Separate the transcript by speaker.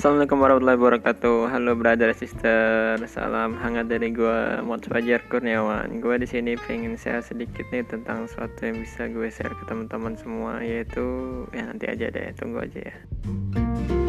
Speaker 1: Assalamualaikum warahmatullahi wabarakatuh. Halo brother sister, salam hangat dari gua Mod Fajar Kurniawan. Gua di sini pengen share sedikit nih tentang sesuatu yang bisa gue share ke teman-teman semua, yaitu ya nanti aja deh, tunggu aja ya.